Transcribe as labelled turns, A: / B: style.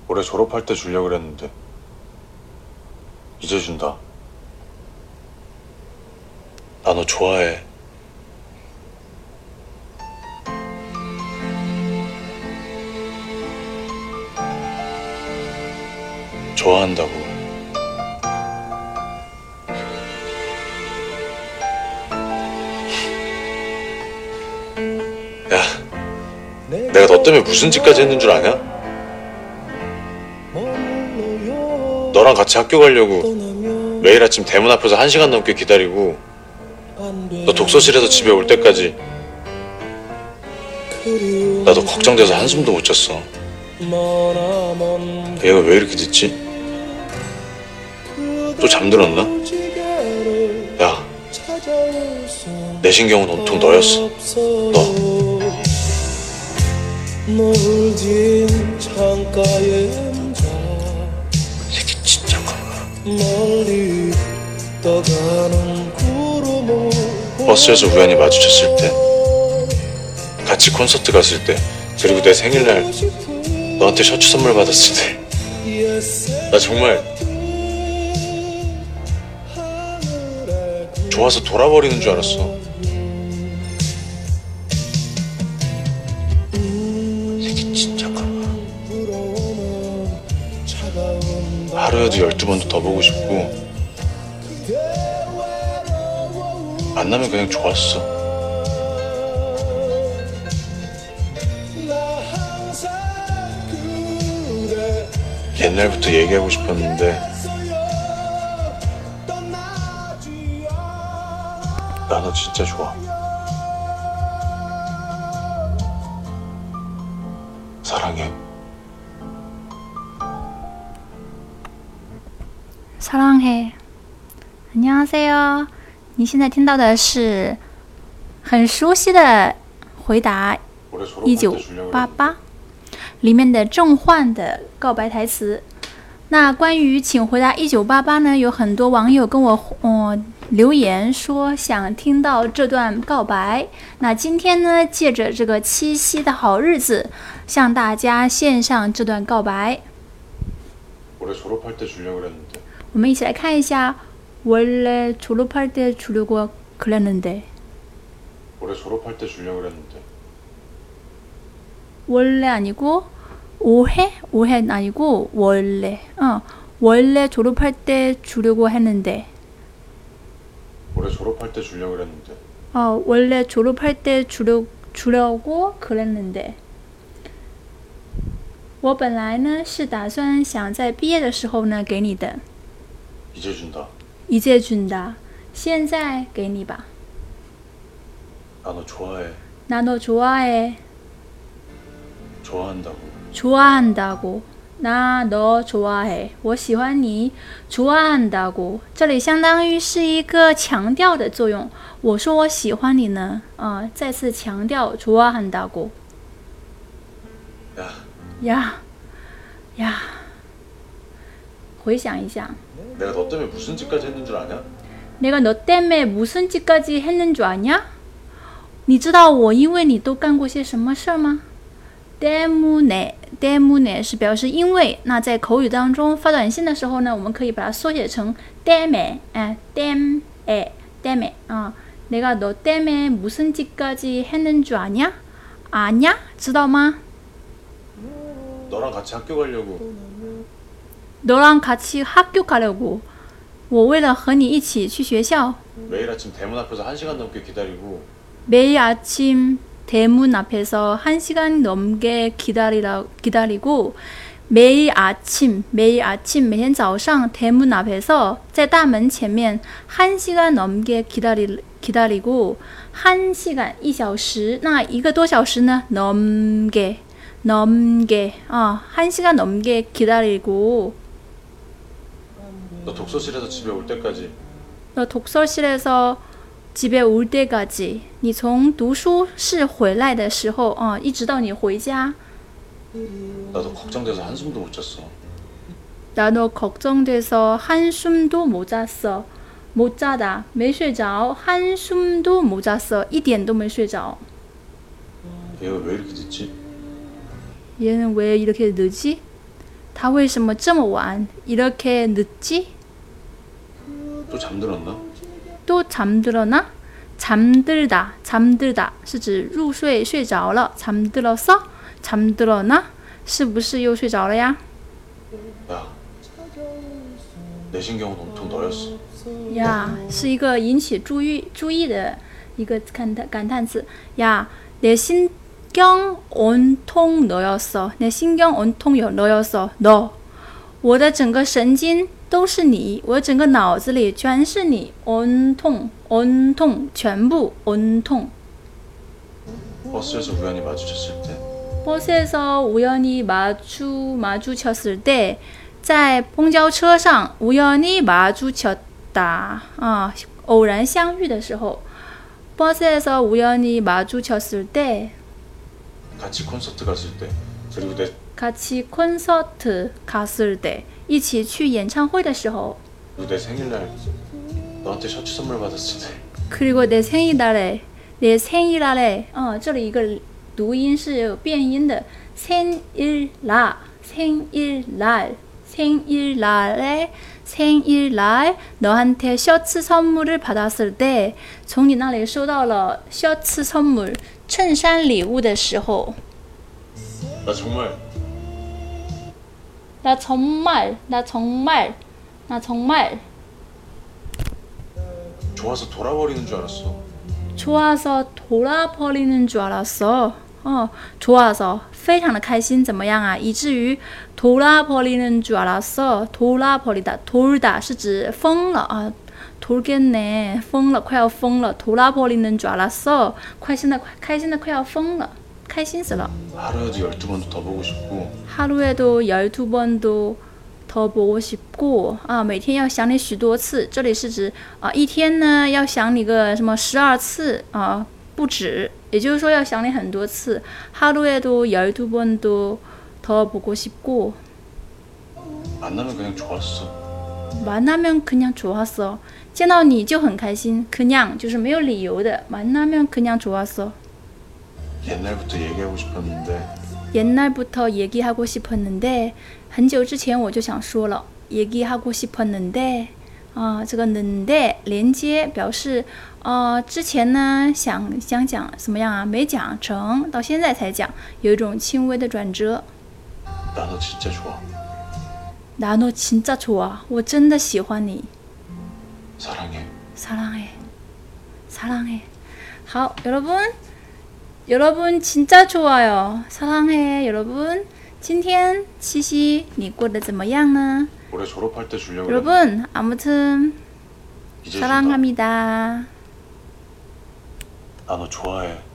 A: 올해 졸업할 때 주려고 그랬는데 이제 준다. 나 너 좋아해. 좋아한다고. 야, 내가 너 때문에 무슨 짓까지 했는 줄 아냐? 너랑 같이 학교 가려고 매일 아침 대문 앞에서 1시간 넘게 기다리고 너 독서실에서 집에 올 때까지 나도 걱정돼서 한숨도 못 잤어. 얘가 왜 이렇게 늦지? 또 잠들었나? 야, 내 신경은 온통 너였어. 너.
B: 노을진 창가에 앉아
A: 새끼 진짜 커.
B: 멀리 떠가는 구름을
A: 버스에서 우연히 마주쳤을 때, 같이 콘서트 갔을 때, 그리고 내 생일날 너한테 셔츠 선물 받았을 때, 나 정말 좋아서 돌아버리는 줄 알았어. 새끼 진짜 커. 하루에도 12번도 더 보고 싶고, 만나면 그냥 좋았어. 옛날부터 얘기하고 싶었는데 나 너 진짜 좋아. 사랑해.
C: 사랑해. 안녕하세요. 你现在听到的是很熟悉的回答1988里面的郑焕的告白台词。那关于请回答1988呢，有很多网友跟我留言说想听到这段告白。那今天呢，借着这个七夕的好日子，向大家献上这段告白。我们一起来看一下。 원래 졸업할 때 주려고 그랬는데.
A: 올해 졸업할 때 주려고 그랬는데.
C: 원래 아니고 올해? 올해는 아니고 원래. 원래 졸업할 때 주려고 했는데.
A: 올해 졸업할 때 주려고 그랬는데.
C: 원래 졸업할 때 주려고 그랬는데. 我本来呢是打算想在毕业的时候呢给你的。
A: 이제 준다.
C: 이제 준다. 现在给你吧.
A: 나 너 좋아해.
C: 나 너 좋아해.
A: 좋아한다고.
C: 좋아한다고. 나 너 좋아해. 我喜欢你. 좋아한다고. 这里相当于是一个强调的作用。我说我喜欢你呢，再次强调 좋아한다고. 야. 回想一下。
A: 내가 너 때문에 무슨 짓까지 했는 줄 아냐?
C: 내가 너 때문에 무슨 짓까지 했는 줄 아냐? 你知道我因为你都干过些什么事儿吗？ 때문에 是表示因为。那在口语当中发短信的时候呢，我们可以把它缩写成 때문에 내가 너 때문에 무슨 짓까지 했는 줄 아냐? 아냐? 知道吗？
A: 너랑 같이 학교 가려고.
C: 너랑 같이 학교 가려고. 我为了和你一起去学校
A: 매일 아침 대문 앞에서 1시간 넘게 기다리고.
C: 매일 아침 대문 앞에서 1시간 넘게 기다리고 매일 아침 每天早上 대문 앞에서 在大门前面 1시간 넘게 기다리고 1시간 1小时那一个多小时呢 넘게 1시간 넘게 기다리고
A: 너 독서실에서 집에 올 때까지.
C: 너 독서실에서 집에 올 때까지 你从读书室回来的时候一直到你回家
A: 나도 걱정돼서 한숨도 못 잤어.
C: 나도 걱정돼서 한숨도 못 잤어. 못 자다 没睡着 한숨도 못 잤어. 一点都没睡着
A: 얘가 왜 이렇게 늦지?
C: 얘는 왜 이렇게 늦지? 他为什么这么晚 이렇게 늦지?
A: 또 잠들었나?
C: 또 잠들었나? 잠들다, 잠들다 是指入睡睡着了 잠들었어? 잠들었나? 是不是又睡着了呀？
A: 야, 내 신경은 온통 너였어.
C: 呀，是一个引起注意的一个感叹词呀。내 신경 온통 너였어. 내 신경 온통 너였어. 너， 我的整个神经都是你，我整个脑子里全是你。온통 온통全部온통。
A: 버스에서 우연히 마주쳤을 때.
C: 버스에서 우연히 마주쳤을 때， 在公交车上우연히 마주쳤다啊，偶然相遇的时候。버스에서 우연히 마주쳤을 때，
A: 같이 콘서트 갔을 때. 그리고 내
C: 같이 콘서트 갔을 때， 一起去演唱会的时候。
A: 그리고 내 생일날 너한테 셔츠 선물 받았을 때.
C: 그리고 내 생일날에， 내 생일날에， 这里一个读音是有变音的， 생일날 생일날 생일날에 생일날 너한테 셔츠 선물을 받았을 때， 从你那里收到了 셔츠 선물 衬衫礼物的时候。
A: 나 정말
C: 나 정말
A: 좋아서 돌아버리는 줄 알았어.
C: 좋아서 돌아버리는 줄 알았어. 좋아서 非常的开心，怎么样啊？以至于 돌아버리는 줄 알았어. 돌아버리다 돌다 是指疯了啊， 돌겠네 疯了，快要疯了。 돌아버리는 줄 알았어. 开心的快要疯了，开心死了。
A: 하루에도 12번도 더 보고 싶고.
C: 하루에도 12번도 더 보고 싶고啊，每天要想你许多次。这里是指啊，一天呢要想你个什么12次啊，不止。也就是说要想你很多次。하루에도 12번도 더 보고 싶고.
A: 만나면 그냥 좋았어.
C: 만나면 그냥 좋았어. 见到你就很开心。그냥 就是没有理由的。만나면 그냥 좋았어.
A: 옛날부터 얘기하고 싶었는데.
C: 옛날부터 얘기하고 싶었는데 很久之前我就想说了 얘기하고 싶었는데 这个 는데 连接表示之前呢想讲怎么样啊，没讲成，到现在才讲，有一种轻微的转折。
A: 나 너 진짜 좋아.
C: 나 너 진짜 좋아. 我真的喜欢你。
A: 사랑해.
C: 사랑해. 好， 여러분 진짜 좋아요. 사랑해 여러분. 今天七夕你过得怎么样呢？
A: 올해 졸업할 때 주려고.
C: 여러분 아무튼
A: 이제
C: 사랑합니다.
A: 나 너 좋아해.